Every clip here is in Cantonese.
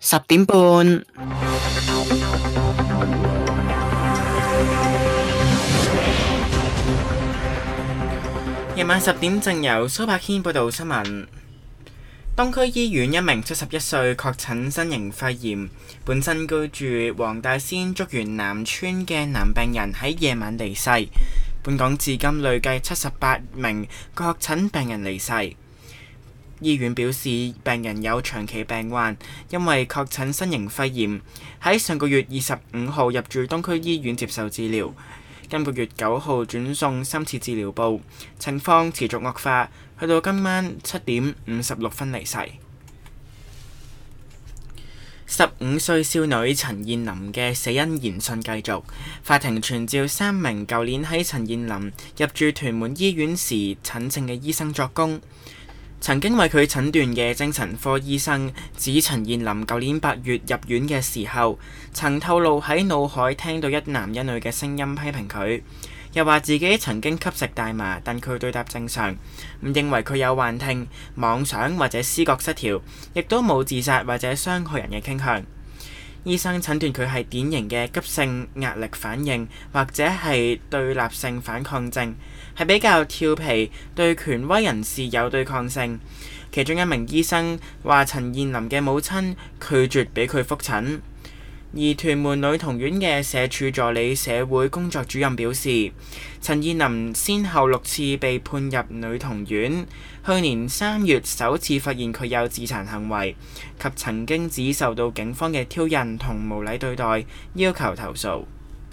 10點半。夜晚10點正由蘇柏軒報道新聞。東區醫院一名71歲確診新型肺炎，本身居住黃大仙竹園南村嘅男病人喺夜晚離世。本港至今累計78名確診病人離世。醫院表示，病人有長期病患，因為確診新型肺炎，喺上個月25號入住東區醫院接受治療。今個月9號轉送深切治療部，情況持續惡化，去到今晚7點56分離世。15歲少女陳彥霖嘅死因研訊繼續，法庭傳召3名舊年喺陳彥霖入住屯門醫院時診症嘅醫生作供。曾經為佢診斷嘅精神科醫生指，陳彥霖舊年8月入院嘅時候，曾透露喺腦海聽到一男一女嘅聲音批評佢，又話自己曾經吸食大麻，但佢對答正常，唔認為佢有幻聽、妄想或者思覺失調，亦都冇自殺或者傷害人嘅傾向。醫生診斷佢係典型嘅急性壓力反應，或者係對立性反抗症，係比較調皮，對權威人士有對抗性。其中一名醫生話，陳彥霖嘅母親拒絕俾佢覆診。而屯門女童院嘅社署助理社會工作主任表示，陳彥霖先後6次被判入女童院，去年3月首次發現佢有自殘行為，及曾經只受到警方嘅挑釁同無禮對待，要求投訴。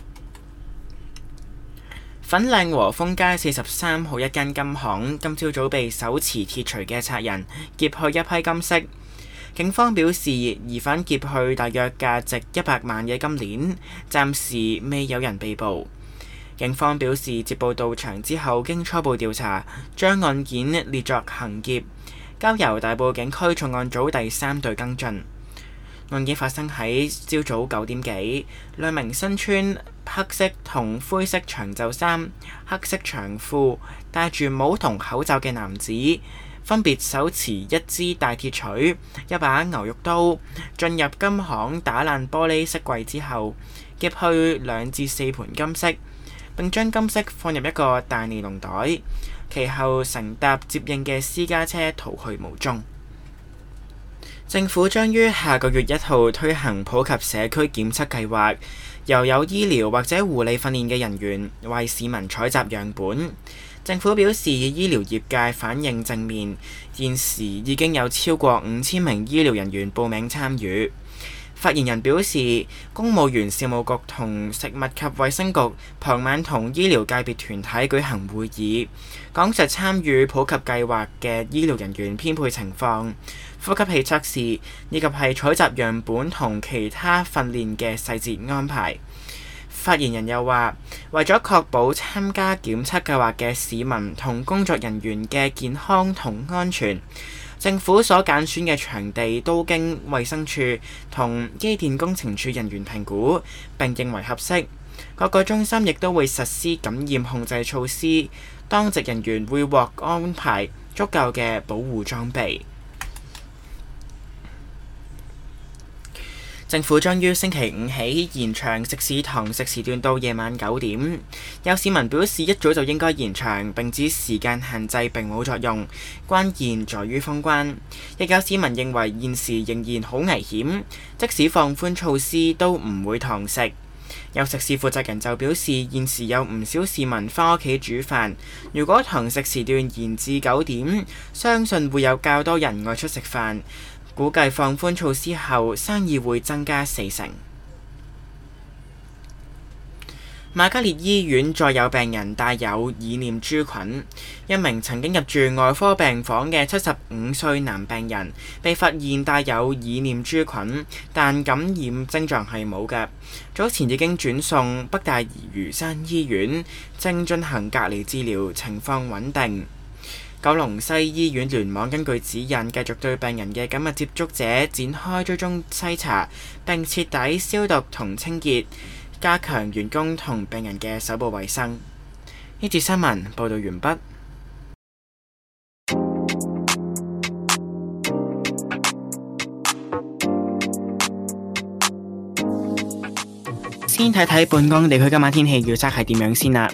粉嶺和豐街43號一間金行今朝早被手持鐵錘嘅賊人劫去一批金飾。警方表示，疑犯劫去大約價值100萬嘅金鏈，暫時未有人被捕。警方表示，接報到場之後，經初步調查，將案件列作行劫，交由大埔警區重案組第3隊跟進。案件發生喺朝早9點幾，兩名身穿黑色同灰色長袖衫、黑色長褲、戴住帽同口罩嘅男子，分別手持一支大鐵錘、一把牛肉刀，進入金行打爛玻璃飾櫃之後，劫去2至4盤金飾，並將金飾放入一個大尼龍袋，其後乘搭接應嘅私家車逃去無蹤。政府將於下個月1號推行普及社區檢測計劃，由有醫療或者護理訓練嘅人員為市民採集樣本。政府表示，醫療業界反應正面，現時已經有超過5000名醫療人員報名參與。發言人表示，公務員事務局同食物及衛生局傍晚同醫療界別團體舉行會議，講述參與普及計劃嘅醫療人員編配情況、呼吸器測試以及係採集樣本同其他訓練嘅細節安排。發言人又話，為咗確保參加檢測計劃嘅市民同工作人員嘅健康同安全，政府所揀選嘅場地都經衛生署同機電工程署人員評估並認為合適。各個中心亦都會實施感染控制措施，當值人員會獲安排足夠嘅保護裝備。政府將於星期5起延長食肆堂食時段到夜晚9點。有市民表示一早就應該延長，並指時間限制並冇作用，關鍵在於封關。亦有市民認為現時仍然好危險，即使放寬措施都唔會堂食。有食肆負責人就表示，現時有唔少市民返屋企煮飯，如果堂食時段延至9點，相信會有較多人外出食飯。估計放寬措施後，生意會增加40%。瑪嘉烈醫院再有病人帶有耳念珠菌，一名曾經入住外科病房嘅75歲男病人被發現帶有耳念珠菌，但感染症狀係冇嘅。早前已經轉送北大嶼山醫院，正進行隔離治療，情況穩定。九龍西醫院聯網根據指引，繼續對病人嘅緊密接觸者展開追蹤篩查，並徹底消毒同清潔，加強員工同病人嘅手部衛生。呢節新聞報導完畢。 先睇睇本港地區今晚天氣預測係點樣先啦。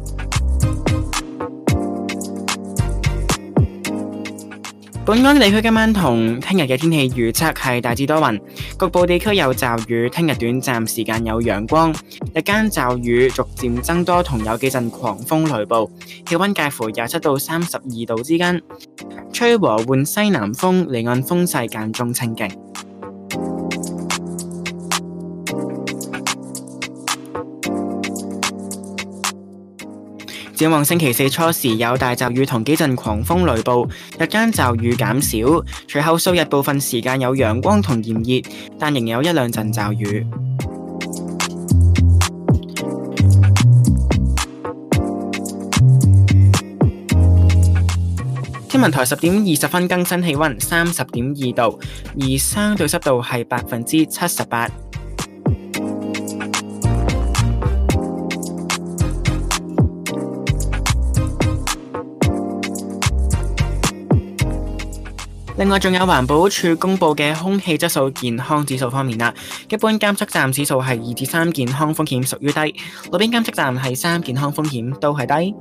本港地區今晚同聽日嘅天氣預測係大致多雲，局部地區有驟雨，聽日短暫時間有陽光，日間驟雨逐漸增多，同有幾陣狂風雷暴，氣溫介乎27到32度之間，吹和緩西南風，離岸風勢間中清勁。展望星期四初時有大驟雨同幾陣狂風雷暴，日間驟雨減少，隨後數日部分時間有陽光同炎熱，但仍有一兩陣驟雨。天文台10點20分更新氣溫30.2度，而相對濕度係78%。另外，仲有環保署公布嘅空氣質素健康指數方面啦，一般監測站指數係2至3，健康風險屬於低；路邊監測站係3，健康風險都係低。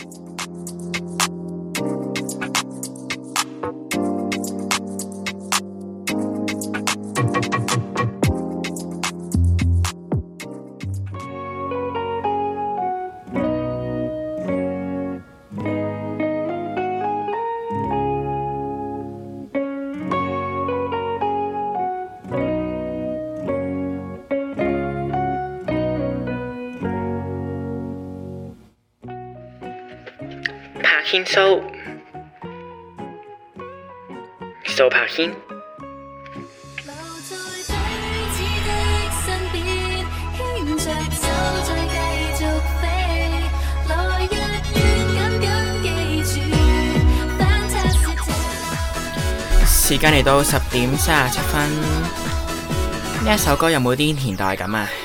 牽蘇柏軒。時間嚟到10點37分，呢一首歌有冇啲年代感啊？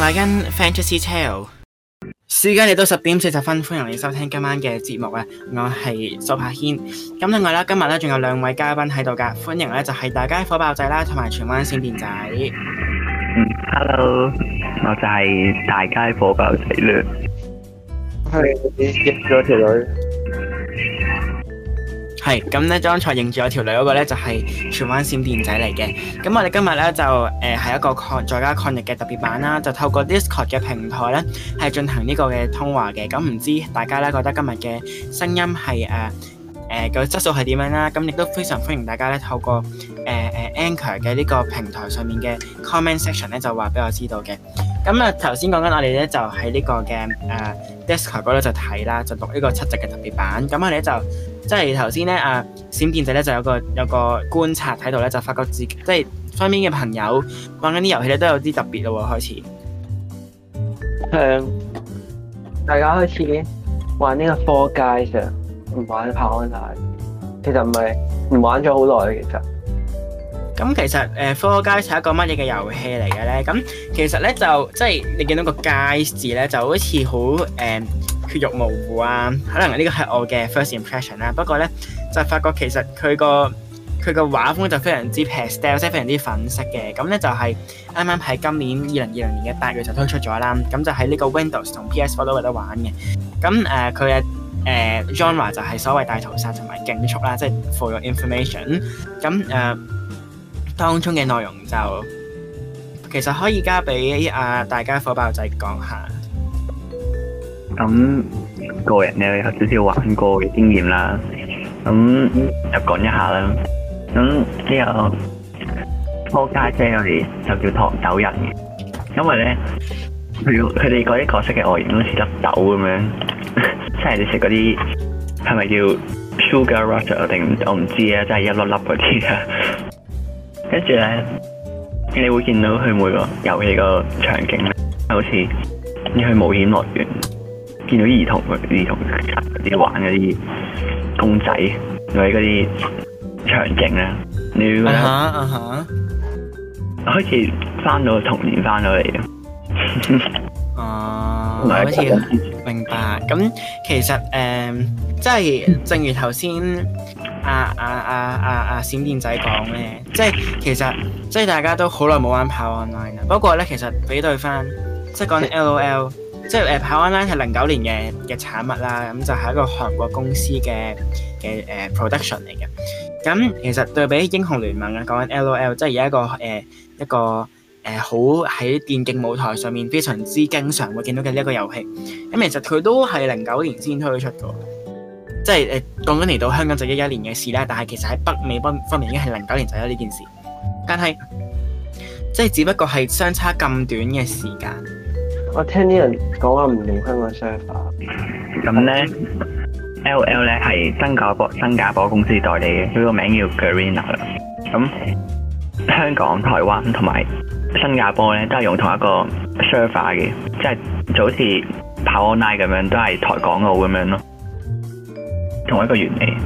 快跟 Fantasy Tale。時間嚟到10:40，歡迎你收聽今晚嘅節目啊！我係蘇柏軒。咁另外啦，今日咧仲有兩位嘉賓喺度噶，歡迎咧就係大街火爆仔啦，同埋荃灣閃電仔。 Hello， 我就係大街火爆仔啦。係認咗條女。 係咁咧，剛才認住我條女嗰個咧就係荃灣閃電仔嚟嘅。咁我哋今日咧就係一個在家抗疫嘅特別版啦，就透過 Discord 嘅平台咧係進行呢個嘅通話嘅。咁唔知大家咧覺得今日嘅聲音係個質素係點樣啦？咁亦都非常歡迎大家咧透過Anchor 嘅呢個平台上面嘅 comment section 咧就話俾我知道嘅。咁啊頭先講緊我哋咧就喺呢個嘅Discord 嗰度就睇啦，就錄呢個7集嘅特別版。咁我哋咧就即係頭先咧閃電仔咧就有個觀察喺度咧，就發覺自己即係身邊嘅朋友玩緊啲遊戲咧都有啲特別咯喎，開始。 大家開始玩呢個 Fall Guys 啊，唔玩跑 online。其實唔玩咗好耐嘅其實。 咁其實Fall Guys 係一個乜嘢嘅遊戲嚟嘅咧？咁其實咧就即係你見到個 Guys 字咧，就好似好血肉模糊啊，可能呢個係我嘅 first impression 啦。不過咧就發覺其實佢個畫風就非常之 pastel， 即係非常之粉色嘅。咁咧就係啱啱喺今年2020年嘅8月就推出咗啦。咁就喺呢個 Windows 同 PS4 都有得玩嘅。咁佢嘅genre 就係所謂大屠殺同埋競速啦，即係 for your information。咁當中嘅內容就其實可以交俾大家火爆仔講下。 咁個人咧有少少玩過嘅經驗啦，咁就講一下啦。咁呢個Fall Guys我哋就叫糖豆人嘅，因為咧佢哋嗰啲角色嘅外形都似粒豆咁樣，即係你食嗰啲係咪叫 Sugar Rush 定我唔知啊，即係一粒粒嗰啲啊。跟住咧，你會見到佢每個遊戲個場景咧，好似你去冒險樂園，見到兒童嗰啲玩嗰啲公仔，或者嗰啲場景咧，你會覺得好似翻到童年翻到嚟嘅。 好似明白。咁其實即係正如頭先閃電仔講咧，即係其實即係大家都好耐冇玩跑 online 啦。不過咧，其實比對翻，即係講緊 LOL， 即係跑 online 係09年嘅產物啦。咁就係一個韓國公司嘅production 嚟嘅。咁其實對比英雄聯盟啊，講緊 LOL， 即係而家一個好喺電競舞台上面非常之經常會見到嘅呢一個遊戲。咁其實佢都係09年先推出嘅。即係講緊嚟到香港就11年嘅事啦，但係其實喺北美方面已經係09年就有呢件事，但係即係只不過係相差咁短嘅時間。 我聽啲人講話唔用香港 server。 咁咧 ，LOL 咧係新加坡公司代理嘅，佢個名叫 Garena 啦。咁香港、台灣同埋新加坡咧都係用同一個 server 嘅，即係就好似跑 online 咁樣，都係台港澳咁樣咯。同一個原理。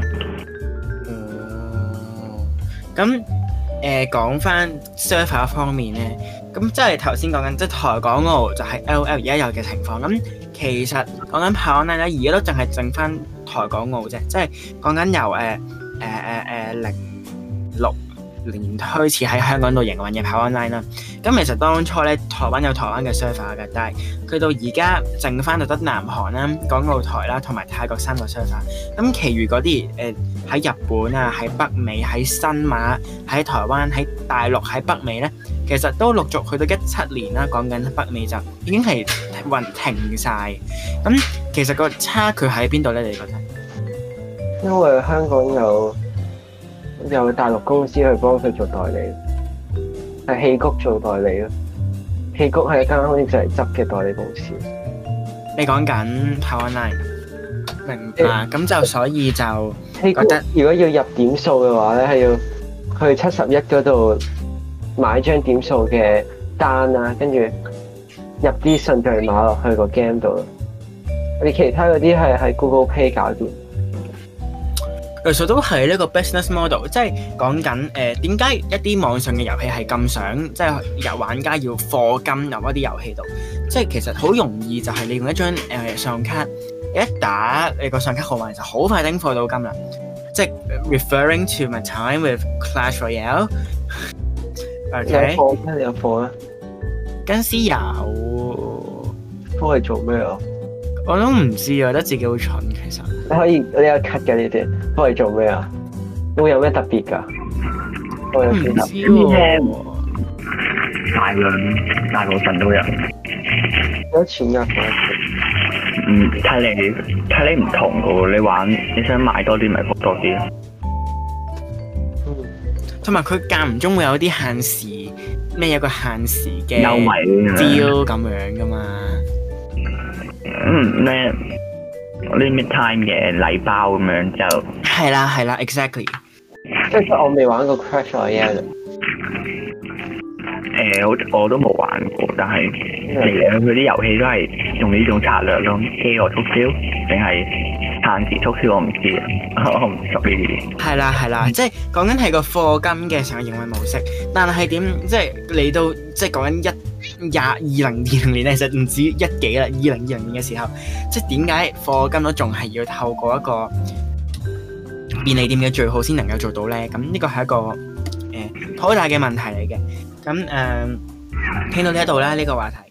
咁講翻 server 方面咧，咁即係頭先講緊即係台港澳就係 LOL 而家有嘅情況。咁其實講緊跑 online 咧，而家都淨係剩翻台港澳啫，即係講緊由06年開始喺香港度營運嘅跑 online 啦。咁其實當初咧，台灣有台灣嘅 server 嘅，但係佢到而家剩翻就得南韓啦、港澳台啦同埋泰國3個 server。咁其餘嗰啲喺日本啊、喺北美、喺新馬、喺台灣、喺大陸、喺北美咧，其實都陸續去到17年啦。講緊北美就已經係停晒。咁其實個差距喺邊度咧？你覺得？ 因為香港有大陸公司去幫佢做代理，係戲谷做代理咯。戲谷係一間好似就嚟執嘅代理公司。 你講緊跑 online，明白。咁就所以就覺得， 如果要入點數嘅話咧，係要去71嗰度買張點數嘅單啊，跟住入啲順序碼落去個 game 度咯。你其他嗰啲係喺 Google Pay 搞掂。 其實都係呢個 business model，即係講緊點解一啲網上嘅遊戲係咁想即係有玩家要課金入一啲遊戲度，即係其實好容易就係你用一張信用卡，一打你個信用卡號碼就好快丁課到金啦。即係 referring to my time with Clash Royale。OK。 你有課咩？ 嗰陣時有。 課係做咩啊？ 我都唔知啊，覺得自己好蠢其實。 你有 cut 嘅呢啲，課係做咩啊？會有咩特別㗎？ 唔知喎。 大部分都有。 幾多錢㗎？ 睇你唔同嘅喎，你玩你想買多啲咪課多啲咯。 同埋佢間唔中會有啲限時咩有個限時嘅優惠 deal 咁樣噶嘛。 咩 limit time 嘅禮包咁樣就係啦，exactly。 即係我未玩過 Clash Royale。 我都冇玩過，但係佢啲遊戲都係用呢種策略咯，飢餓促銷定係限時促銷，我唔知啊，我唔熟呢啲。 係啦，即係講緊係個課金嘅成個營運模式，但係點即係嚟到即係講緊2020年，其實唔止一幾啦，2020年嘅時候，即係點解課金都仲係要透過一個便利店嘅序號先能夠做到咧？咁呢個係一個好大嘅問題嚟嘅。咁聽到呢一度啦，呢個話題。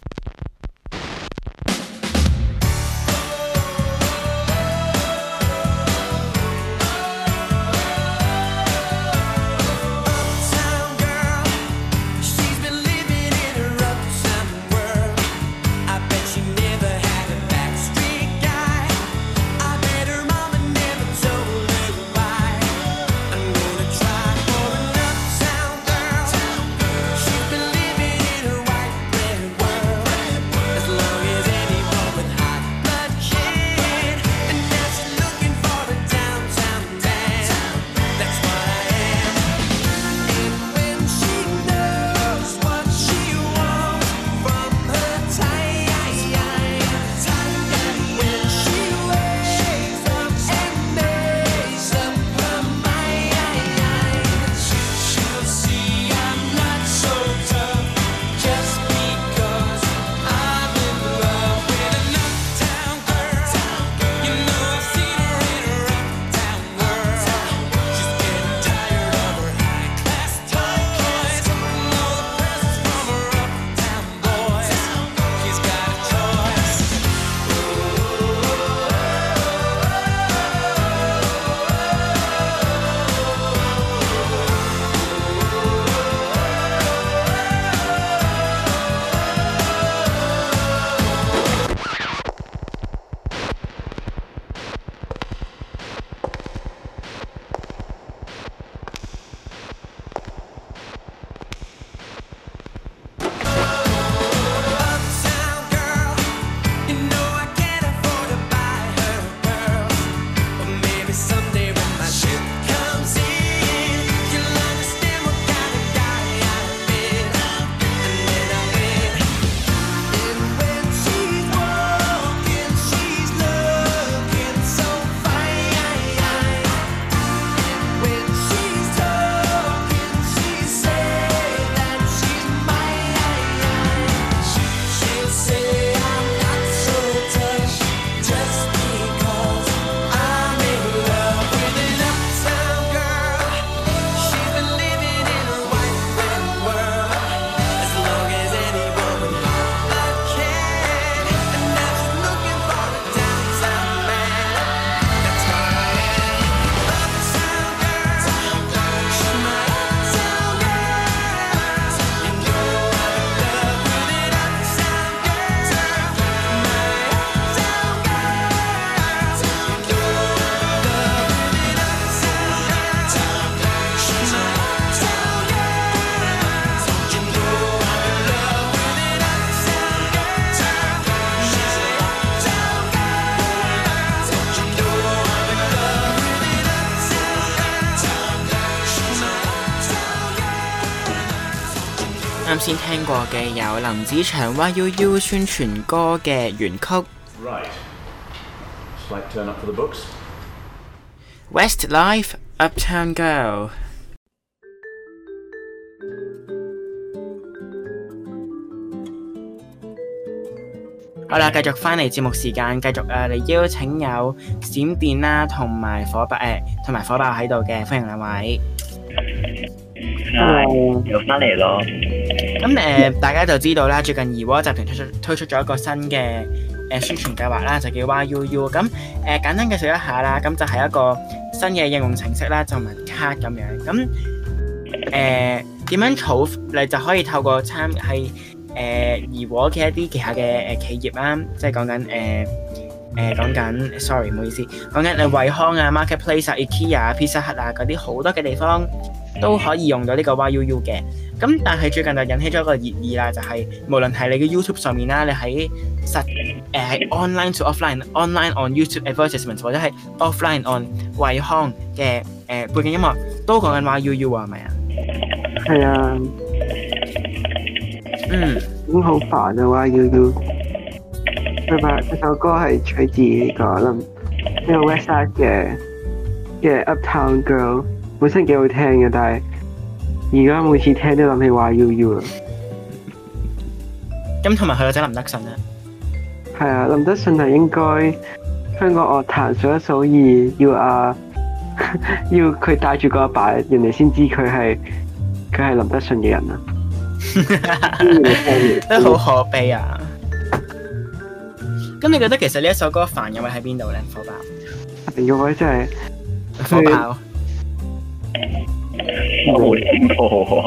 啱先聽過嘅有林子祥 YUU 宣傳歌嘅原曲。 Westlife Uptown Girl。好啦，繼續翻嚟節目時間，繼續嚟邀請有閃電啦，同埋火爆喺度嘅，歡迎兩位。 又翻嚟咯。 咁大家就知道啦，最近怡和集團推出咗一個新嘅宣傳計劃啦，就叫 YUU。咁簡單介紹一下啦，咁就係一個新嘅應用程式啦，就文卡咁樣。咁點樣儲？你就可以透過怡和嘅一啲旗下嘅企業啦，即係講緊，sorry 唔好意思，講緊惠康啊、Marketplace 啊、IKEA 啊、Pizza Hut 啊嗰啲好多嘅地方都可以用到呢個 YUU 嘅。咁但係最近就引起咗一個熱議啦，就係無論係你嘅 YouTube 上面啦，你喺喺 online to offline，online on YouTube advertisements 或者係 offline on 惠康嘅背景音樂都講緊 YUU 啊，係咪啊？ 係啊。咁好煩啊！YUU，佢首歌係取自呢個 Westside 嘅 Uptown Girl， 本身幾好聽嘅，但係而家每次聽都諗起 YUU 啊。 咁同埋佢個仔林德信啊。 係啊，林德信係應該香港樂壇數一數二，要佢帶住個阿爸，人哋先知佢係林德信嘅人啊。 都好可悲啊！咁你覺得其實呢一首歌煩嘅位喺邊度咧？火爆煩嘅位真係火爆， 我冇聽過。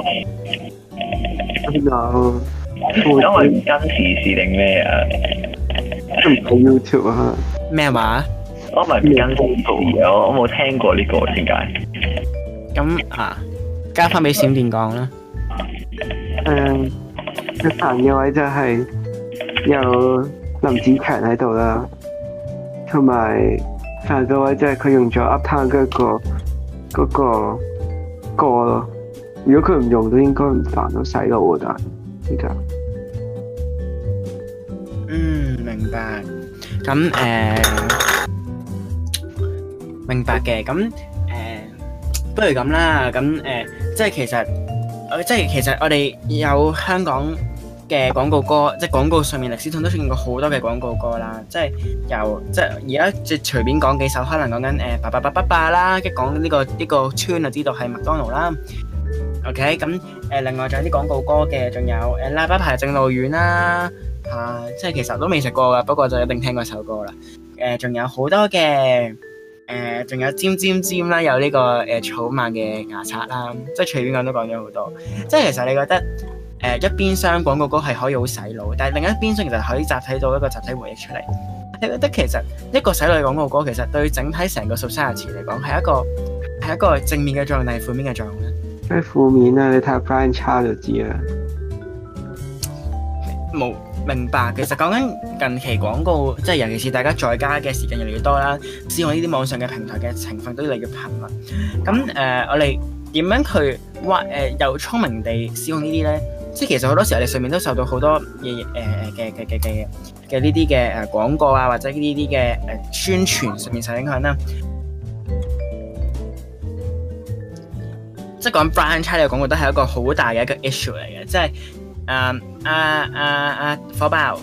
因為唔跟時事定咩啊？ 都唔睇 YouTube 啊？ 咩話？ 我唔係唔跟時事啊！我冇聽過呢個，點解？ 咁交翻俾閃電講啦。 最煩嘅位就係有林子強喺度啦，同埋煩嘅位就係佢用咗 Uptown 嗰個歌咯。如果佢唔用都應該唔煩咯，洗腦啊！但係而家明白。咁明白嘅。咁不如咁啦。咁即係其實我哋有香港嘅廣告歌，即係廣告上面歷史上都出現過好多嘅廣告歌啦。即係而家即係隨便講幾首，可能講緊爸爸爸爸爸啦，跟住講呢個 tune 就知道係麥當勞啦。OK， 咁另外仲有啲廣告歌嘅，仲有喇叭牌正路遠啦，即係其實都未食過噶，不過就一定聽過首歌啦。仲有好多嘅。仲有尖尖尖啦，有呢個草蜢嘅牙刷啦，即係隨便講都講咗好多。即係其實你覺得一邊廂廣告歌係可以好洗腦，但係另一邊廂其實可以集體到一個集體回憶出嚟。你覺得其實一個洗腦嘅廣告歌，其實對整體成個 society 嚟講係一個正面嘅作用定係負面嘅作用咧？ 係負面啊！你睇下 Brian Cha 就知啦。 冇明白，其實講緊近期廣告，即係尤其是大家在家嘅時間越嚟越多啦，使用呢啲網上嘅平台嘅情況都越嚟越頻密。咁我哋點樣去又聰明地使用呢啲咧？即係其實好多時候，你上面都受到好多嘅呢啲嘅廣告啊，或者呢啲嘅宣傳上面受影響啦。即係講 Brian Cha 呢個廣告都係一個好大嘅一個 issue 嚟嘅，即係。火爆，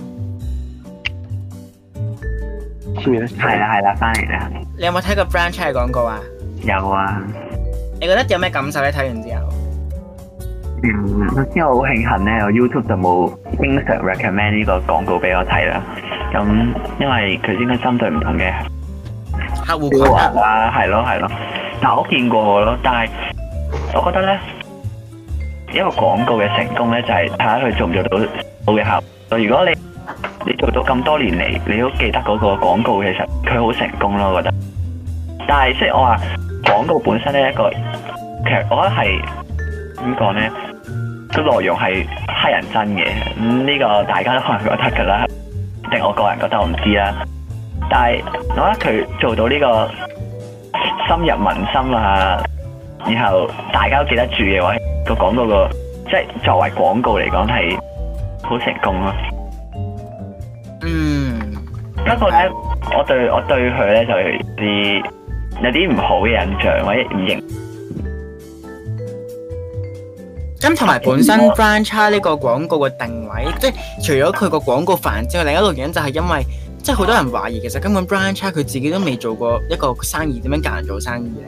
係啦，翻嚟啦。 你有冇睇過 Brian Cha 嘅廣告啊？ 有啊。 你覺得有咩感受咧？睇完之後， 首先我好慶幸咧，我 YouTube 就冇經常 recommend 呢個廣告俾我睇啦。咁因為佢應該針對唔同嘅客戶群啦，係咯。但我見過咯，但係我覺得咧。一個廣告嘅成功咧，就係睇下佢做唔做到好嘅效果。如果你做到咁多年嚟，你都記得嗰個廣告，其實佢好成功咯，我覺得。但係即係我話廣告本身咧，其實我覺得係點講咧，個內容係乞人憎嘅。呢個大家都可能覺得㗎啦，定我個人覺得我唔知啦。但係我覺得佢做到呢個深入民心啊，然後大家都記得住嘅話。個廣告即係作為廣告嚟講係好成功咯。不過咧，我對佢咧就有啲有啲唔好嘅印象或者唔認。 咁同埋本身 Brian Cha 呢個廣告嘅定位，即係除咗佢個廣告煩之外，另一個原因就係因為即係好多人懷疑其實根本 Brian Cha 佢自己都未做過一個生意，點樣教人做生意咧？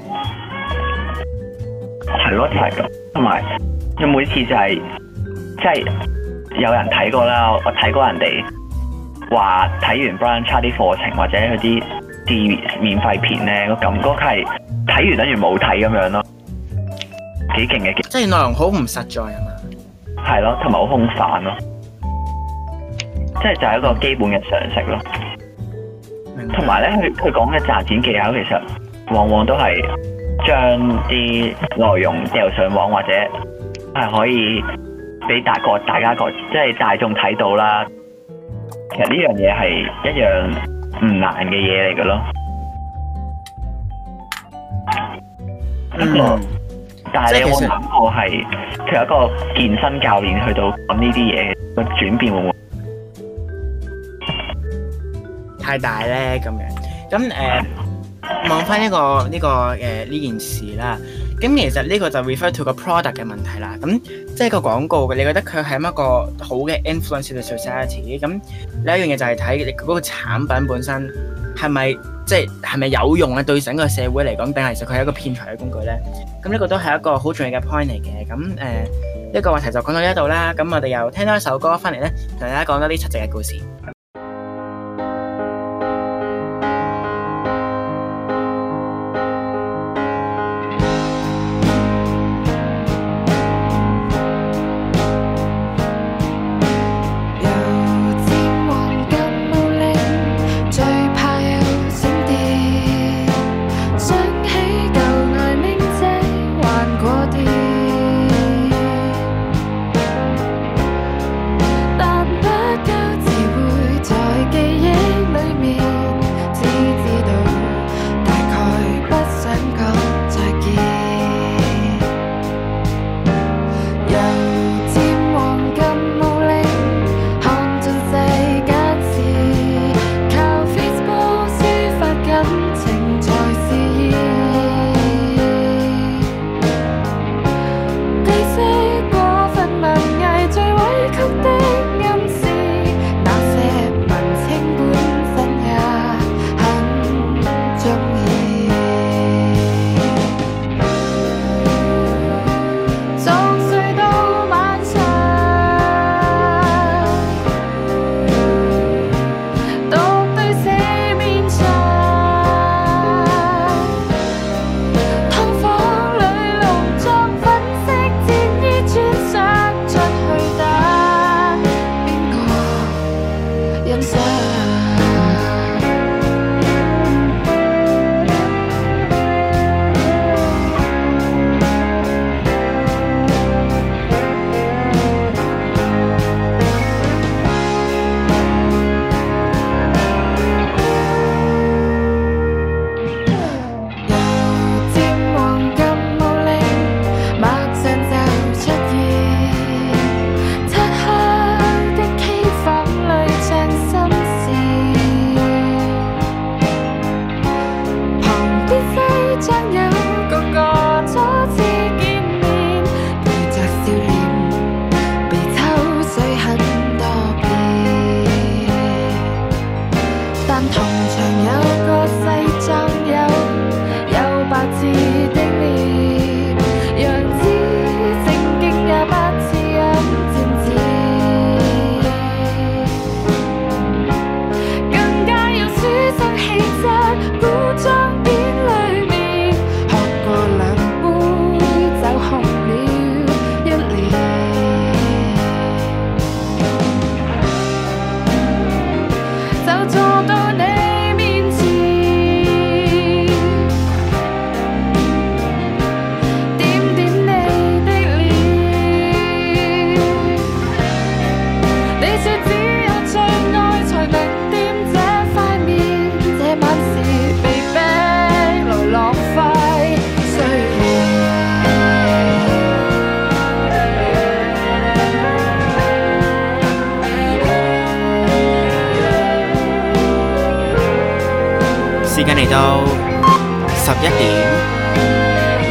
係咯，就係咁。同埋佢每次就係即係有人睇過啦，我睇過人哋話睇完 Brian Cha 啲課程或者佢啲免費片咧，個感覺係睇完等於冇睇咁樣咯。幾勁嘅， 即係內容好唔實在係嘛？ 係咯，同埋好空泛咯，即係就係一個基本嘅常識咯。同埋咧，佢講嘅賺錢技巧其實往往都係將啲內容掉上網，或者係可以俾大家即係大眾睇到啦。其實呢樣嘢係一樣唔難嘅嘢嚟嘅咯。但係你有冇諗過係佢一個健身教練去到講呢啲嘢個轉變會唔會太大咧？咁樣咁望翻呢件事啦。咁其實呢個就 refer to 個 product 嘅問題啦。咁即係個廣告嘅，你覺得佢係一個好嘅 influence to society？咁另一樣嘢就係睇你嗰個產品本身係咪係咪有用啊？對整個社會嚟講，定係其實佢係一個騙財嘅工具咧？咁呢個都係一個好重要嘅 point 嚟嘅。咁呢個話題就講到呢一度啦。咁我哋又聽多一首歌翻嚟咧，同大家講多啲七夕嘅故事。 但不久自會 11點。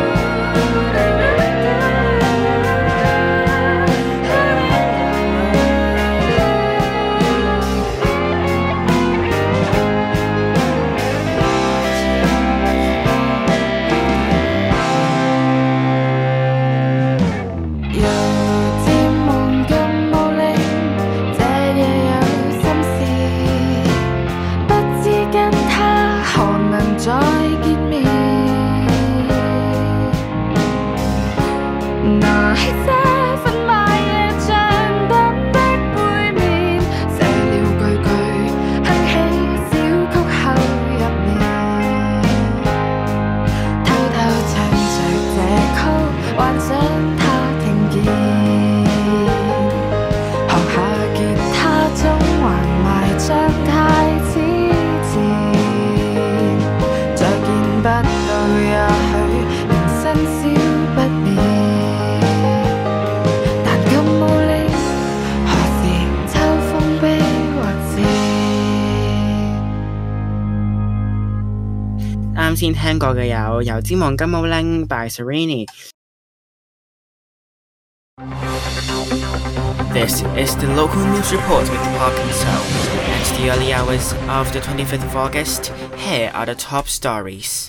啱先聽過嘅有油尖旺金毛拎 by Serrini。 This is the local news report with Park and So. At the early hours of the 25th of August, here are the top stories.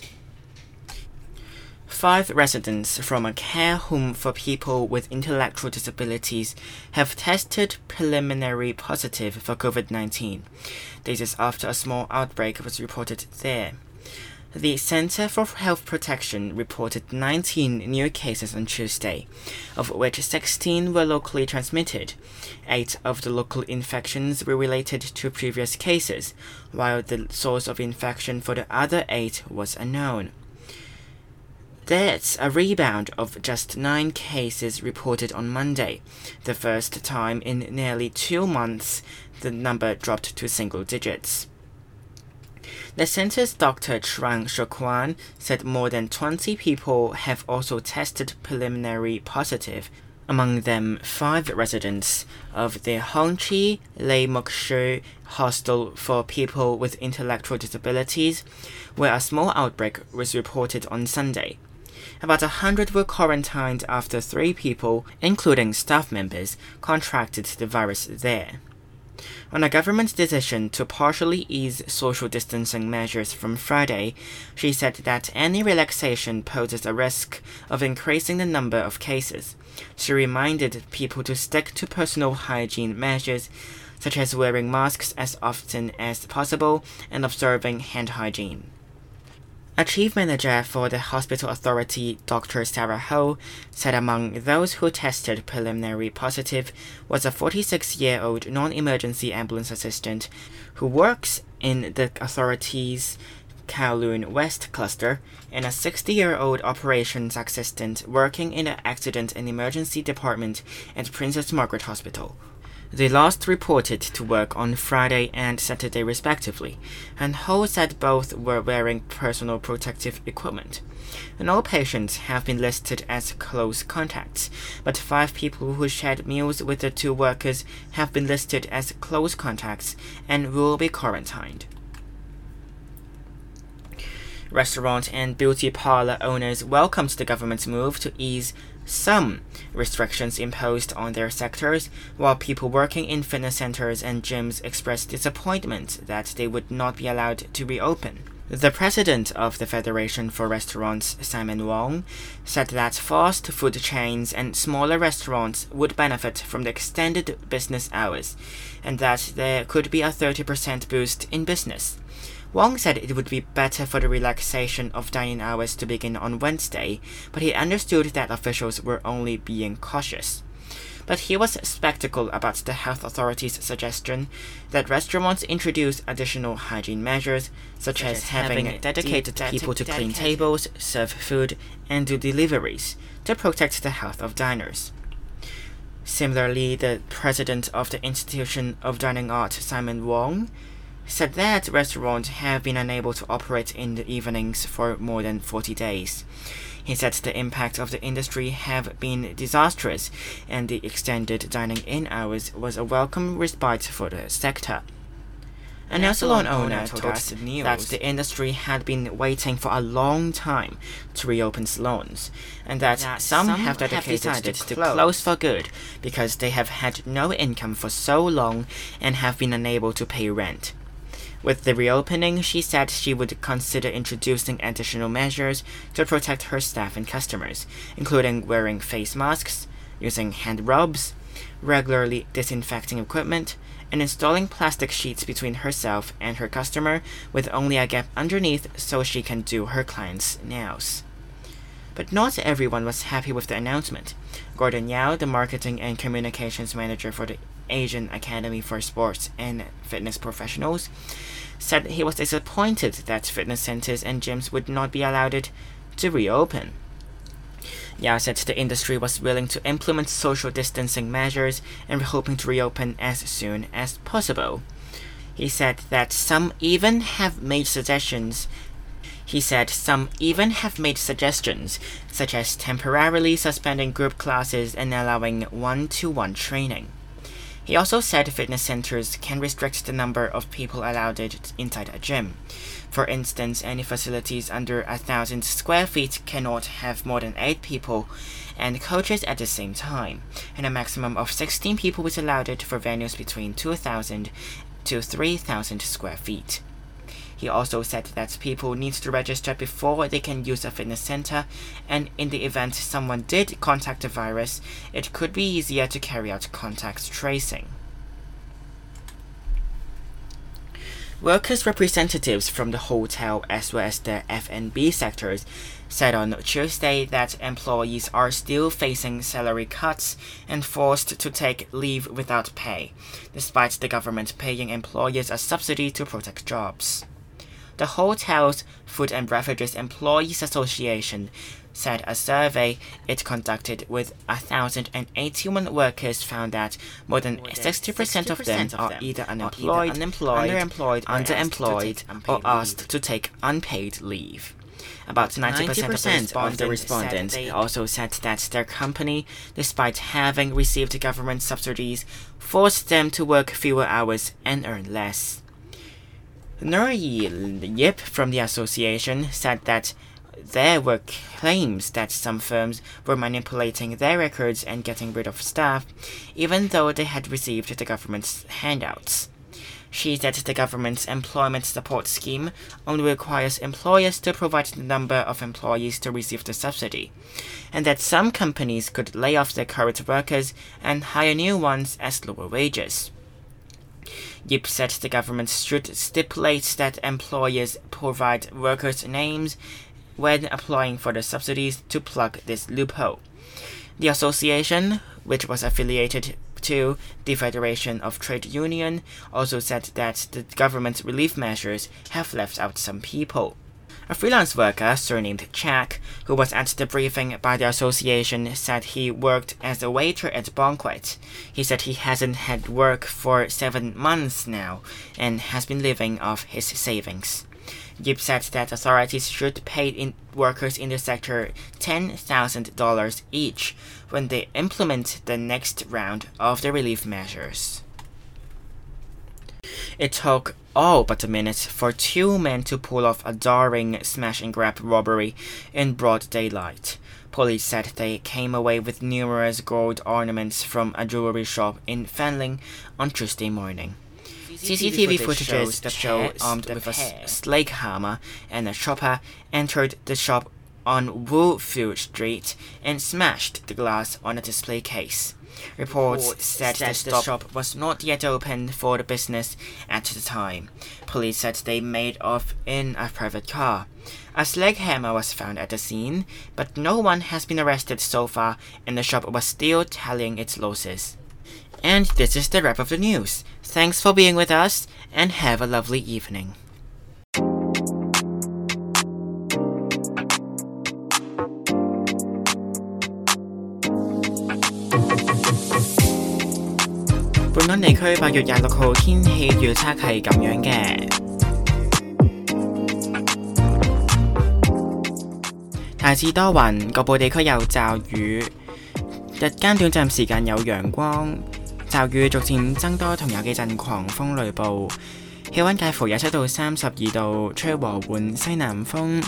5 residents from a care home for people with intellectual disabilities have tested preliminary positive for COVID-19. This is after a small outbreak was reported there. The Center for Health Protection reported 19 new cases on Tuesday, of which 16 were locally transmitted. 8 of the local infections were related to previous cases, while the source of infection for the other 8 was unknown. That's a rebound of just 9 cases reported on Monday, the first time in nearly 2 months the number dropped to single digits. The center's Dr. Trang Shukwan said more than 20 people have also tested preliminary positive, among them 5 residents of the Hongqi Lei Mokshu Hostel for People with Intellectual Disabilities, where a small outbreak was reported on Sunday. About 100 were quarantined after 3 people, including staff members, contracted the virus there. On a government decision to partially ease social distancing measures from Friday, she said that any relaxation poses a risk of increasing the number of cases. She reminded people to stick to personal hygiene measures, such as wearing masks as often as possible and observing hand hygiene. A chief manager for the hospital authority, Dr. Sarah Ho, said among those who tested preliminary positive was a 46-year-old non-emergency ambulance assistant who works in the authority's Kowloon West cluster and a 60-year-old operations assistant working in the accident and emergency department at Princess Margaret Hospital. They last reported to work on Friday and Saturday respectively, and Ho said both were wearing personal protective equipment. And all patients have been listed as close contacts, but 5 people who shared meals with the 2 workers have been listed as close contacts and will be quarantined. Restaurant and beauty parlor owners welcomed the government's move to ease some restrictions imposed on their sectors, while people working in fitness centers and gyms expressed disappointment that they would not be allowed to reopen. The president of the Federation for Restaurants, Simon Wong, said that fast food chains and smaller restaurants would benefit from the extended business hours, and that there could be a 30% boost in business. Wong said it would be better for the relaxation of dining hours to begin on Wednesday, but he understood that officials were only being cautious. But he was skeptical about the health authority's suggestion that restaurants introduce additional hygiene measures, such as having dedicated people to clean tables, serve food, and do deliveries, to protect the health of diners. Similarly, the president of the Institution of Dining Art, Simon Wong, said that restaurants have been unable to operate in the evenings for more than 40 days. He said the impact of the industry have been disastrous, and the extended dining-in hours was a welcome respite for the sector. A nail salon owner told us that the industry had been waiting for a long time to reopen salons, and that some have decided to close for good because they have had no income for so long and have been unable to pay rent. With the reopening, she said she would consider introducing additional measures to protect her staff and customers, including wearing face masks, using hand rubs, regularly disinfecting equipment, and installing plastic sheets between herself and her customer with only a gap underneath so she can do her clients' nails. But not everyone was happy with the announcement. Gordon Yao, the marketing and communications manager for the Asian Academy for Sports and Fitness Professionals, said he was disappointed that fitness centers and gyms would not be allowed to reopen. Yao said the industry was willing to implement social distancing measures and hoping to reopen as soon as possible. He said some even have made suggestions, such as temporarily suspending group classes and allowing one-to-one training. He also said fitness centers can restrict the number of people allowed inside a gym. For instance, any facilities under 1,000 square feet cannot have more than 8 people and coaches at the same time, and a maximum of 16 people is allowed for venues between 2,000 to 3,000 square feet. He also said that people need to register before they can use a fitness center, and in the event someone did contact the virus, it could be easier to carry out contact tracing. Workers' representatives from the hotel as well as the F&B sectors said on Tuesday that employees are still facing salary cuts and forced to take leave without pay, despite the government paying employers a subsidy to protect jobs. The Hotels, Food and Beverages Employees Association said a survey it conducted with 1,081 workers found that more than 60% of them are either unemployed, underemployed, or asked to take unpaid leave. About 90% of the respondents also said that their company, despite having received government subsidies, forced them to work fewer hours and earn less. Nur Yip from the association said that there were claims that some firms were manipulating their records and getting rid of staff, even though they had received the government's handouts. She said the government's employment support scheme only requires employers to provide the number of employees to receive the subsidy, and that some companies could lay off their current workers and hire new ones at lower wages. Yip said the government should stipulate that employers provide workers' names when applying for the subsidies to plug this loophole. The association, which was affiliated to the Federation of Trade Union, also said that the government's relief measures have left out some people. A freelance worker surnamed Chak, who was at the briefing by the association, said he worked as a waiter at Banquet. He said he hasn't had work for 7 months now and has been living off his savings. Yip said that authorities should pay workers in the sector $10,000 each when they implement the next round of the relief measures. It took all but a minute for 2 men to pull off a daring smash-and-grab robbery in broad daylight. Police said they came away with numerous gold ornaments from a jewelry shop in Fanling on Tuesday morning. CCTV footage show armed with a slake hammer and a chopper entered the shop on Wu Fu Street and smashed the glass on a display case. Reports said the shop was not yet open for the business at the time. Police said they made off in a private car. A sledgehammer was found at the scene, but no one has been arrested so far, and the shop was still tallying its losses. And this is the wrap of the news. Thanks for being with us, and have a lovely evening.本港地區8月26號天氣預測係咁樣嘅，大致多雲，局部地區有驟雨，日間短暫時間有陽光，驟雨逐漸增多同有幾陣狂風雷暴， 氣溫介乎27到32度，吹和緩西南風。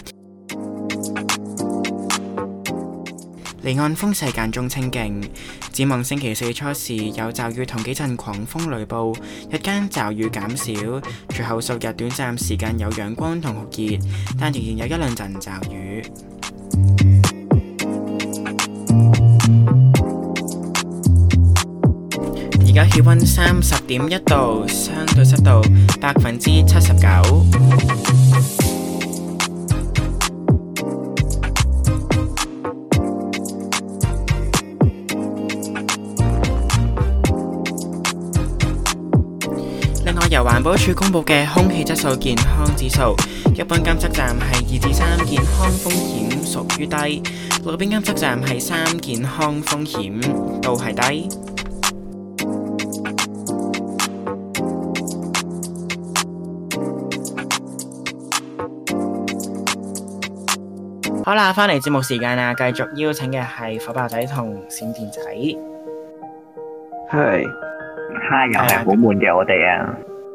離岸風勢間中清勁。展望星期4初時有驟雨同幾陣狂風雷暴，日間驟雨減少，隨後數日短暫時間有陽光同酷熱，但仍然有一兩陣驟雨。而家氣溫30.1度，相對濕度79%。另外，由環保署公布嘅空氣質素健康指數，一般監測站係2至3，健康風險屬於低；路邊監測站係3，健康風險都係低。好啦，返嚟節目時間啦，繼續邀請嘅係火爆仔同閃電仔。 係。 又係好悶嘅我哋啊。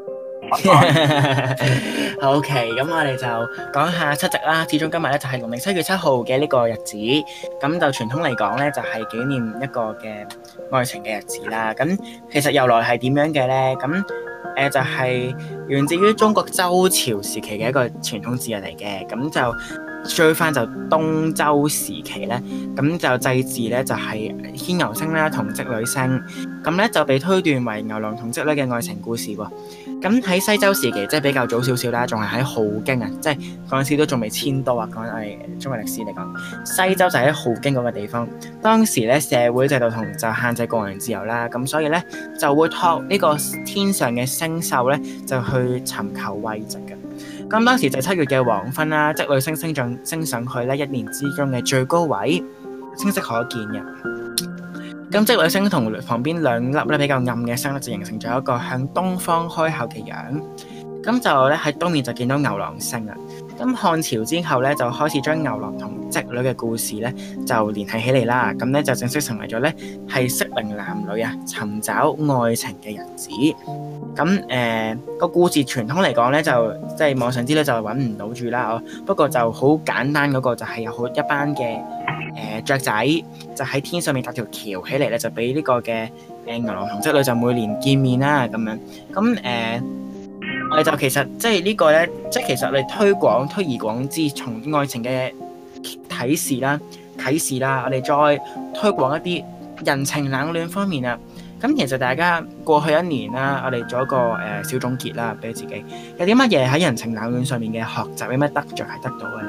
OK， 咁我哋就講下七夕啦。始終今日咧就係農曆7月7號嘅呢個日子，咁就傳統嚟講咧就係紀念一個嘅愛情嘅日子啦。咁其實由來係點樣嘅咧？咁就係源自於中國周朝時期嘅一個傳統節日嚟嘅。咁就追翻就東周時期咧，咁就祭祀咧就係牽牛星啦同織女星，咁咧就被推斷為牛郎同織女嘅愛情故事喎。咁喺西周時期即係比較早少少啦，仲係喺鎬京啊，即係嗰陣時都仲未遷都啊。講我哋中國歷史嚟講，西周就喺鎬京嗰個地方。當時咧社會制度同就限制個人自由啦，咁所以咧就會託呢個天上嘅星宿咧就去尋求慰藉嘅。咁當時就7月嘅黃昏啦，織女星升上去咧一年之中嘅最高位，清晰可見嘅。咁織女星同旁邊兩粒咧比較暗嘅星咧，就形成咗一個向東方開口嘅樣。咁就咧喺東面就見到牛郎星啦。咁漢朝之後咧，就開始將牛郎同織女嘅故事咧就聯繫起嚟啦。咁咧就正式成為咗咧係適齡男女啊尋找愛情嘅日子。咁個故事傳統嚟講咧，就即係網上資料就揾唔到住啦。不過就好簡單，嗰個就係有好一班嘅雀仔，就喺天上面搭條橋起嚟咧，就俾呢個嘅牛郎同織女就每年見面啦咁樣。咁我哋就其實即係呢個咧，即係其實我哋推而廣之，從愛情嘅啟示啦，我哋再推廣一啲人情冷暖方面啊。咁其實大家過去一年啦，我哋做一個小總結啦，俾自己有啲乜嘢喺人情冷暖上面嘅學習，有咩得着係得到嘅咧？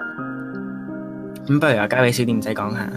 咁不如又交俾小店仔講下。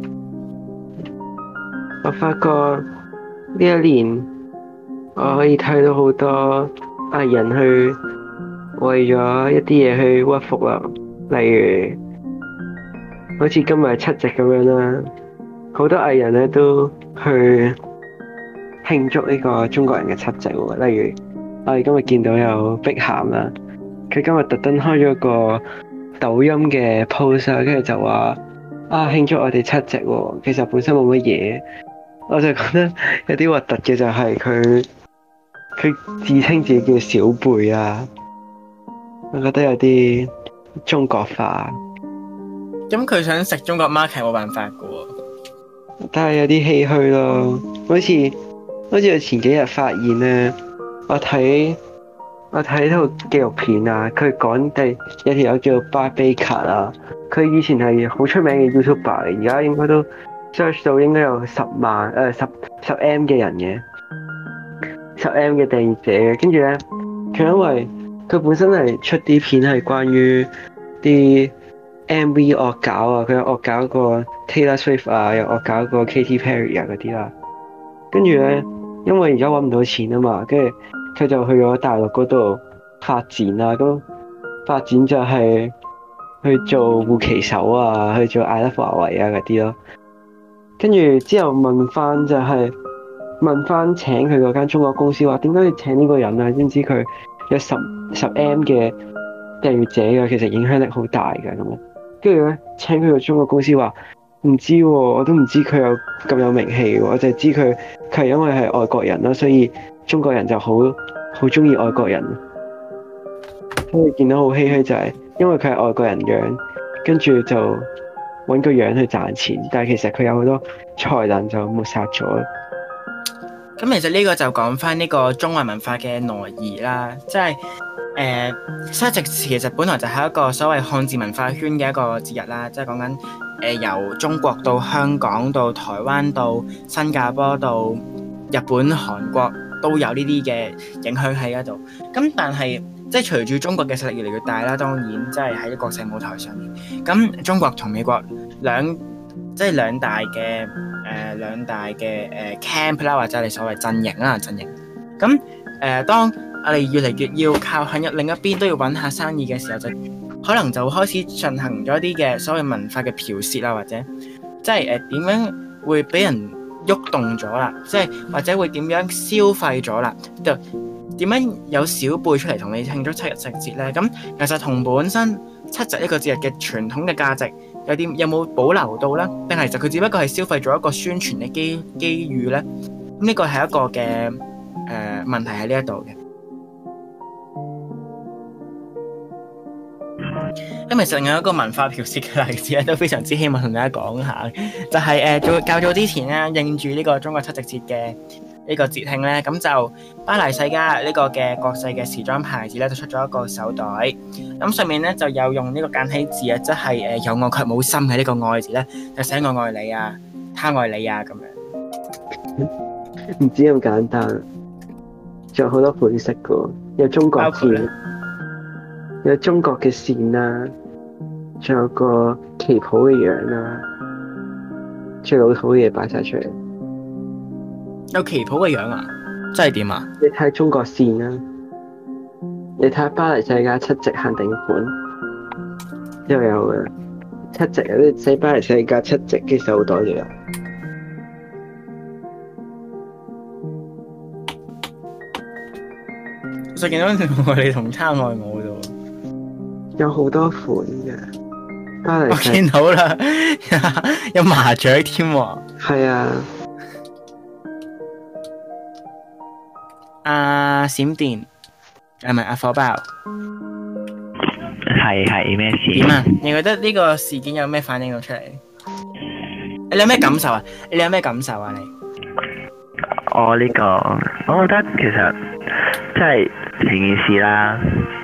我發覺呢一年我可以睇到好多藝人去為咗一啲嘢去屈服啦，例如好似今日7夕咁樣啦，好多藝人咧都去慶祝呢個中國人嘅7夕喎。例如我哋今日見到有碧咸啦，佢今日特登開咗個抖音嘅 post 啊，跟住就話慶祝我哋7夕喎。其實本身冇乜嘢，我就覺得有啲核突嘅就係佢自稱自己叫小貝啊，我覺得有啲中國化。 咁佢想食中國 market 冇辦法噶喎， 但係有啲唏噓咯。好似我前幾日發現咧，我睇套紀錄片啊，佢講有條友叫 Barbecue 啊，佢以前係好出名嘅 YouTuber 嚟，而家應該都 search 到應該有10M 嘅人嘅。10 M 嘅訂閱者嘅，跟住咧，佢因為佢本身係出啲片係關於啲 MV 惡搞啊，佢有惡搞過 Taylor Swift 啊，又惡搞過 Katy Perry 啊嗰啲啦。跟住咧，因為而家揾唔到錢啊嘛，跟住佢就去咗大陸嗰度發展啦。咁發展就係去做護旗手啊，去做 I Love 華為啊嗰啲咯。跟住之後問翻請佢嗰間中國公司話點解要請呢個人啊？知唔知佢有10 M 嘅訂閱者㗎？其實影響力好大㗎咁樣。跟住咧，請佢個中國公司話唔知喎，我都唔知佢有咁有名氣喎，我就係知佢係因為係外國人啦，所以中國人就好好中意外國人，所以見到好唏噓就係因為佢係外國人樣，跟住就揾個樣去賺錢，但係其實佢有好多才能就抹殺咗。 咁其實呢個就講翻呢個中華文化嘅挪移啦，即係七夕其實本來就係一個所謂漢字文化圈嘅一個節日啦，即係講緊由中國到香港到台灣到新加坡到日本、韓國都有呢啲嘅影響喺嗰度。咁但係即係隨住中國嘅實力越嚟越大啦，當然即係喺國際舞台上面，咁中國同美國兩大嘅camp 啦，或者你所謂陣營啦，陣營。咁當我哋越嚟越要靠向另一邊都要揾下生意嘅時候，就可能就開始進行咗啲嘅所謂文化嘅剽竊啦，或者即係點樣會俾人喐動咗啦，即係或者會點樣消費咗啦，就點樣有小輩出嚟同你慶祝七日節呢？咁其實同本身七夕一個節日嘅傳統嘅價值有冇保留到呢？定係其實佢只不過係消費咗一個宣傳嘅機遇呢？咁呢個係一個嘅問題喺呢一度嘅。咁其實有一個文化剽竊嘅例子咧，都非常之希望同大家講下，就係較早之前咧，應住呢個中國七夕節嘅呢個節慶咧，咁就巴黎世家呢個嘅國際嘅時裝牌子咧，就出咗一個手袋，咁上面咧就有用呢個簡體字啊，即係有愛卻冇心嘅呢個愛字咧，就寫我愛你啊，他愛你啊咁樣。 唔止咁簡單，仲有好多款式噶，有中國字。有中國嘅線啦，仲有個旗袍嘅樣啦，最老土嘅嘢擺晒出嚟。 有旗袍嘅樣啊？即係點啊？ 你睇中國線啦，你睇下巴黎世家七夕限定款，又有嘅七夕有啲寫巴黎世家七夕嘅手袋嚟啊！ 我見到你同他愛我度。 有好多款嘅，巴黎我見到啦，有麻雀添喎。 係啊， 阿閃電係咪阿火爆？ 係咩事？ 點啊？你覺得呢個事件有咩反應到出嚟？你有咩感受啊？你有咩感受啊？你？ 我覺得其實即係成件事啦，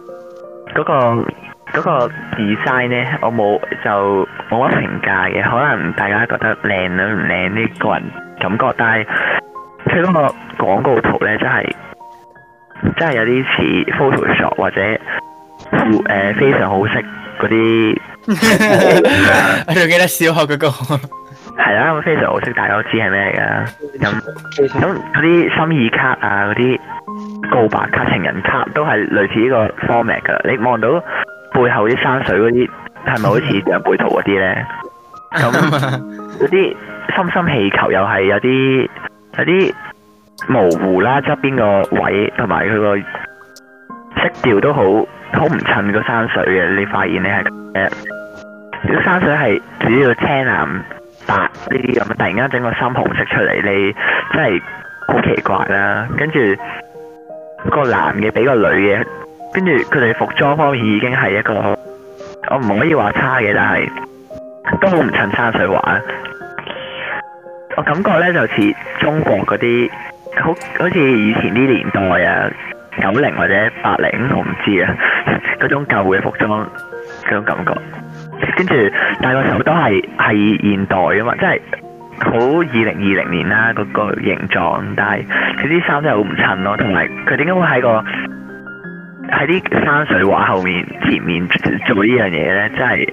嗰個 design 咧，我冇乜評價嘅，可能大家覺得靚唔靚呢個人感覺，但係佢嗰個廣告圖咧，真係有啲似 Photoshop 或者非常好色嗰啲。 我仲記得小學嗰個。 係啦，咁非常好色，大家都知係咩嚟㗎。咁嗰啲心意卡啊，嗰啲告白卡、情人卡都係類似呢個 format 㗎。你望到背後啲山水嗰啲係咪好似長輩圖嗰啲咧？咁嗰啲心心氣球又係有啲模糊啦，側邊個位同埋佢個色調都好唔襯個山水嘅。你發現你係啲山水係主要青藍白呢啲咁，突然間整個深紅色出嚟，你真係好奇怪啦。跟住個男嘅俾個女嘅。跟住佢哋服裝方面已經係一個，我唔可以話差嘅，但係都好唔襯山水畫。我感覺咧就似中國嗰啲，好似以前啲年代啊，90或者80，我唔知啊，嗰種舊嘅服裝嗰種感覺。跟住但係個手都係現代啊嘛，即係好2020年啦嗰個形狀，但係佢啲衫真係好唔襯咯，同埋佢點解會喺啲山水畫後面前面做呢樣嘢咧？真係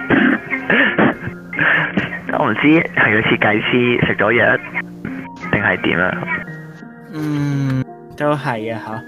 我唔知係個設計師食咗藥定係點啊？ 都係啊嚇。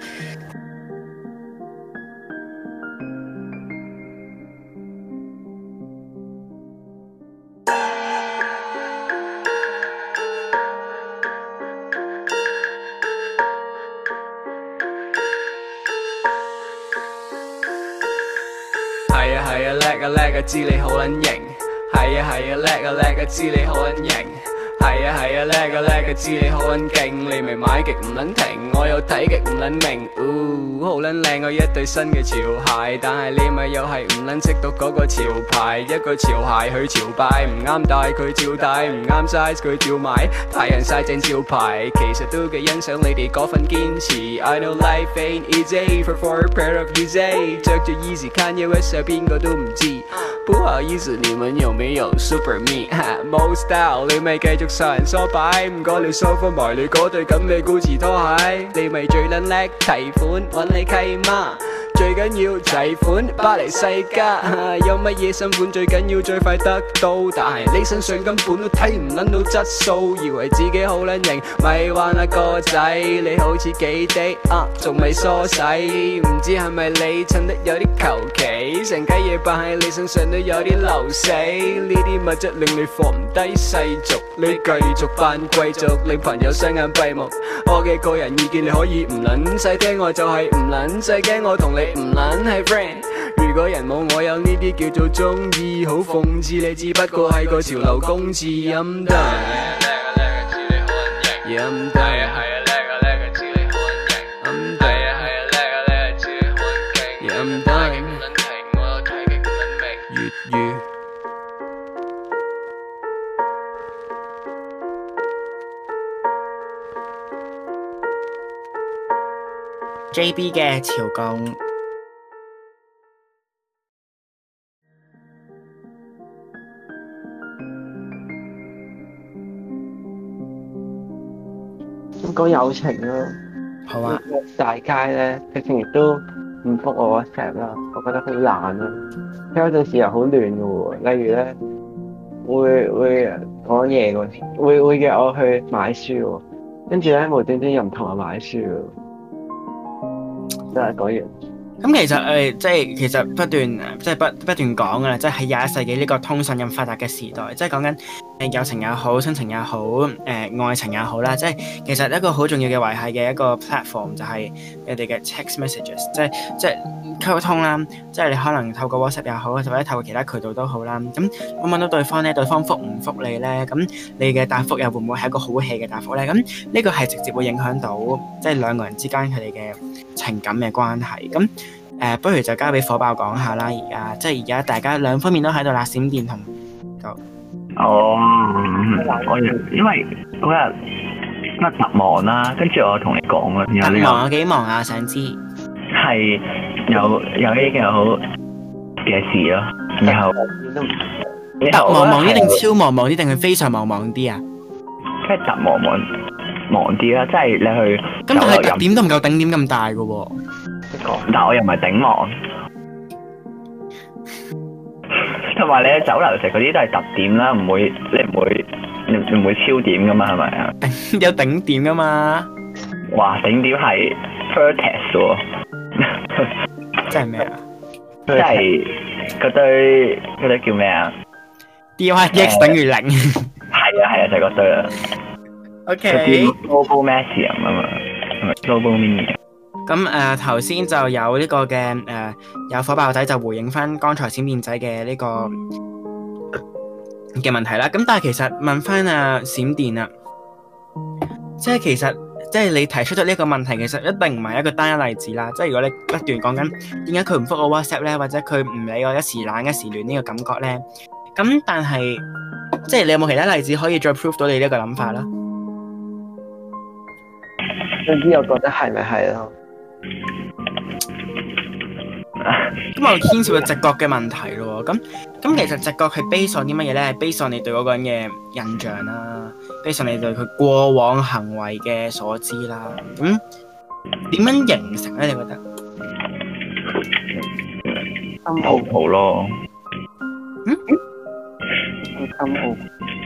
叻啊，知你好撚型，係啊，叻啊，知你好撚型， 係啊係啊，叻啊叻啊，知你好撚勁，你咪買極唔撚停，我又睇極唔撚明，好撚靚我一對新嘅潮鞋，但係你咪又係唔撚識讀嗰個潮牌，一個潮鞋去潮拜，唔啱戴佢照戴，唔啱 size 佢照買，太陽曬正招牌，其實都幾欣賞你哋嗰份堅持。I know life ain't easy for a pair of Yeezy， 着住 Yeezy Kanye West 邊個都唔知，不好意思你們有沒有 Super Me？ 冇 style 你咪繼續受人唆擺，唔該你收翻埋你嗰對咁嘅 Gucci 拖鞋，你咪最撚叻提款揾你契媽，最緊要齊款巴黎世家，有乜嘢新款最緊要最快得到，但係你身上根本都睇唔撚到質素，以為自己好撚型，咪玩下個仔，你好似幾滴仲未梳洗，唔知係咪你襯得有啲求其，成雞嘢扮喺你身上都有啲流死，呢啲物質令你放唔低世俗，你繼續扮貴族，令朋友雙眼閉目，我嘅個人意見你可以唔撚使聽，我就係唔撚使驚，我同你唔撚係 friend， 如果人冇我有呢啲叫做中意，好諷刺你只不過係個潮流公子，陰得陰得 JB 嘅潮共。 咁講友情咯， 好啊， 大街咧，直情亦都唔覆我 WhatsApp 啦，我覺得好懶啦。有陣時又好亂嘅喎，例如咧會講嘢嗰時，會約我去買書喎，跟住咧無端端又唔同我買書喎，真係講完。 咁其實即係其實不斷講㗎啦，即係喺21世紀呢個通訊咁發達嘅時代，即係講緊友情也好、親情也好、愛情也好啦，即係其實一個好重要嘅維繫嘅一個 platform 就係你哋嘅 text messages，即係溝通啦，即係你可能透過 WhatsApp 也好，或者透過其他渠道都好啦。咁揾到對方咧，對方覆唔覆你咧？咁你嘅答覆又會唔會係一個好 hea 嘅答覆咧？咁呢個係直接會影響到即係兩個人之間佢哋嘅情感嘅關係。咁不如就交俾火爆講下啦。而家大家兩方面都喺度啦，閃電同因為嗰日特忙啦，跟住我同你講啦， 特忙有幾忙啊？想知係有呢件好嘅事咯，然後特忙啲定超忙啲定係非常忙啲啊？ 即係特忙啲啦，即係你去咁，但係特點都唔夠頂點咁大噶喎。 但我又唔係頂忙，同埋你喺酒樓食嗰啲都係特點啦，你唔會超點噶嘛，係咪啊？ 有頂點噶嘛？ 哇，頂點係 Vertex 喎， 即係咩啊？ 即係嗰堆叫咩啊 ？DYX 等於0。 係啊，就係嗰堆啦。 OK。 Global Maximum 啊嘛，係咪 Global Minimum？ 咁頭先就有呢個嘅有火爆仔就回應翻剛才閃電仔嘅呢個嘅問題啦。咁但係其實問翻閃電啊，即係其實即係你提出咗呢個問題，其實一定唔係一個單一例子啦。即係如果你不斷講緊點解佢唔覆我 WhatsApp 咧，或者佢唔理我一時懶一時亂呢個感覺咧，咁但係即係你有冇其他例子可以再 prove 到你呢個諗法啦？ 總之我覺得係咪係咯？ 咁我牽涉到直覺嘅問題咯，咁其實直覺係 base on啲乜嘢咧？係 base on你對嗰個人嘅印象啦，base on你對佢過往行為嘅所知啦。咁點樣形成咧？你覺得？ 心好咯。 心好。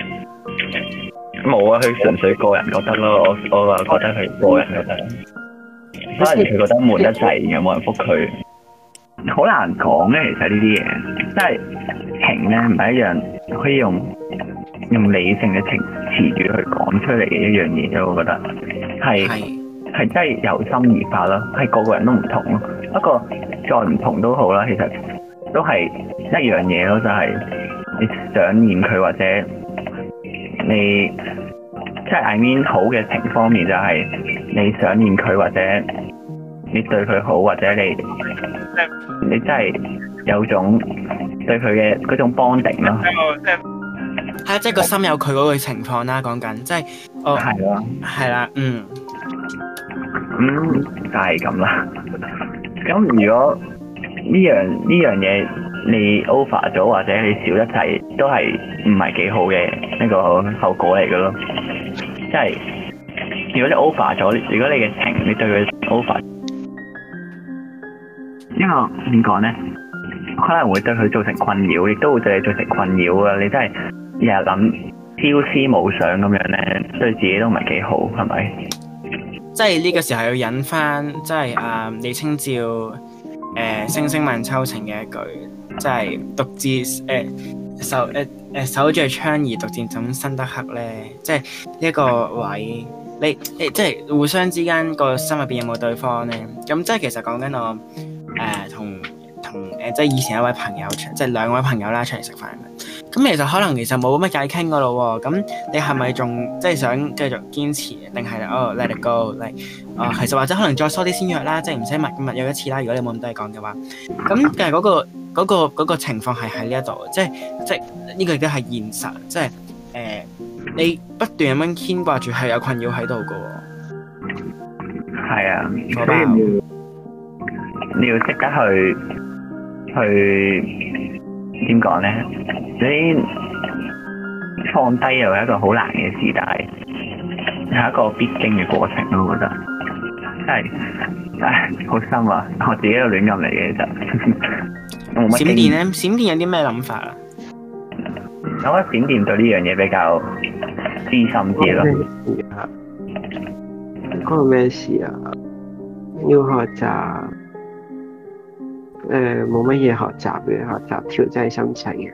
冇啊，佢純粹個人覺得咯，我話覺得佢個人覺得。可能佢覺得悶得滯，有冇人覆佢？好難講咧，其實呢啲嘢，即係情咧唔係一樣可以用理性嘅詞語去講出嚟嘅一樣嘢咯。我覺得係真係由心而發咯，係個個人都唔同咯。不過再唔同都好啦，其實都係一樣嘢咯，就係你想念佢或者你即係 I mean 好嘅情方面就係你想念佢，或者你對佢好，或者你真係有種對佢嘅嗰種 bonding 咯。 係啊，即係個心有佢嗰個情況啦，講緊即係係咯， 係啦， 就係咁啦。咁如果呢樣嘢你 over 咗，或者你少一齊，都係唔係幾好嘅呢個後果嚟嘅咯。即係如果你 over 咗，如果你嘅情你對佢 over，因為點講咧，可能會對佢造成困擾，亦都會對你造成困擾啊！你真係日日諗朝思暮想咁樣咧，對自己都唔係幾好，係咪？ 即係呢個時候要引翻，即係李清照星星問秋情嘅一句，即係獨自守着窗兒，獨自怎生得黑咧？即係呢一個位，你即係互相之間個心入邊有冇對方咧？咁即係其實講緊我同即係以前一位朋友，即係兩位朋友啦，出嚟食飯咁，其實可能冇乜偈傾噶咯喎。咁你係咪仲即係想繼續堅持，定係let it go？其實或者可能再疏啲先約啦，即係唔使密約一次啦。如果你冇咁多嘢講嘅話，咁但係嗰個情況係喺呢一度，即係呢個亦都係現實，即係你不斷咁樣牽掛住係有困擾喺度噶喎。 係啊，所以你要識得去點講咧？你放低又係一個好難嘅事，但係一個必經嘅過程咯。我覺得真係好深啊！我自己都亂咁嚟嘅就冇乜。閃電咧，閃電有啲咩諗法啊？ 我覺得閃電對呢樣嘢比較資深啲咯。 嗰個咩事啊？要學習。冇乜嘢學習嘅，學習調劑心情嘅。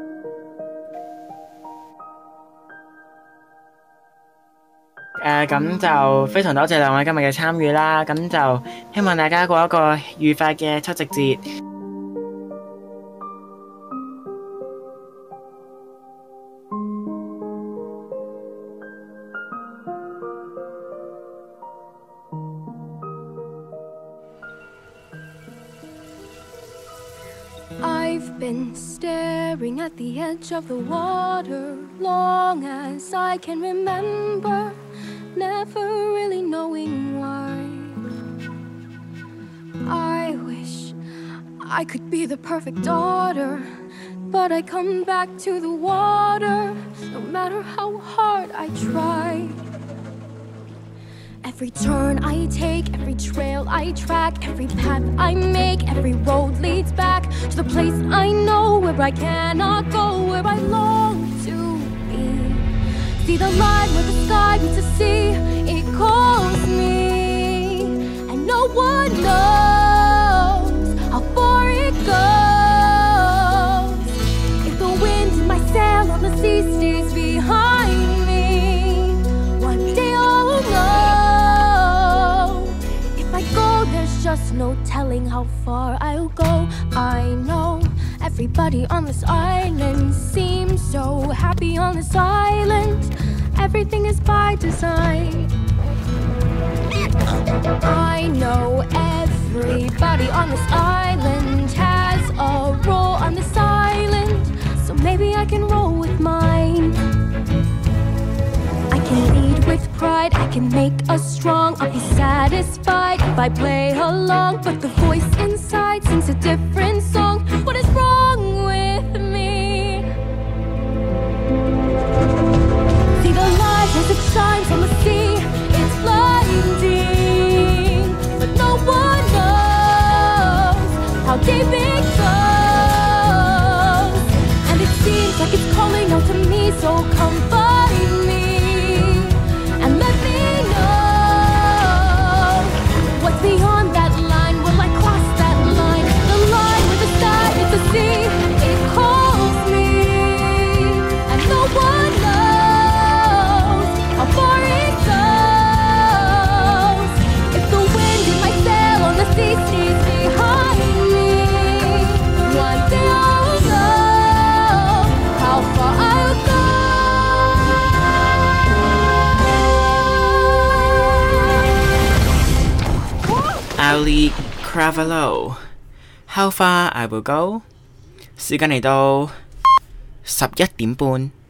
咁就非常多謝兩位今日嘅參與啦，咁就希望大家過一個愉快嘅七夕節。 I've been staring at the edge of the water long as I can remember, never really knowing why. I wish I could be the perfect daughter, but I come back to the water no matter how hard I try. Every turn I take, every trail I track, every path I make, every road leads back to the place I know where I cannot go, where I long to be. See the line where the sky meets the sea, it calls me, and no one knows how far it goes. If the wind in my sail on the sea stays behind me, one day I'll know. There's just no telling how far I'll go. I know everybody on this island seems so happy on this island. Everything is by design. I know everybody on this island has a role on this island, so maybe I can roll with mine. I can lead with pride, I can make us strong. I'll be satisfied if I play along, but the voice inside sings a different song. What is wrong with me? See the light as it shines on the sea, it's blinding, but no one knows how deep it goes. And it seems like it's calling out to me, so come find me. Beyond that line, will I cross that line? The line where the sky meets the sea, it calls me, and no one knows how far it goes. If the wind in my sail on the sea stays behind me, one day I'll know how far I'll go. Pauly Cravalho How Far I Will Go。時間嚟到11點半。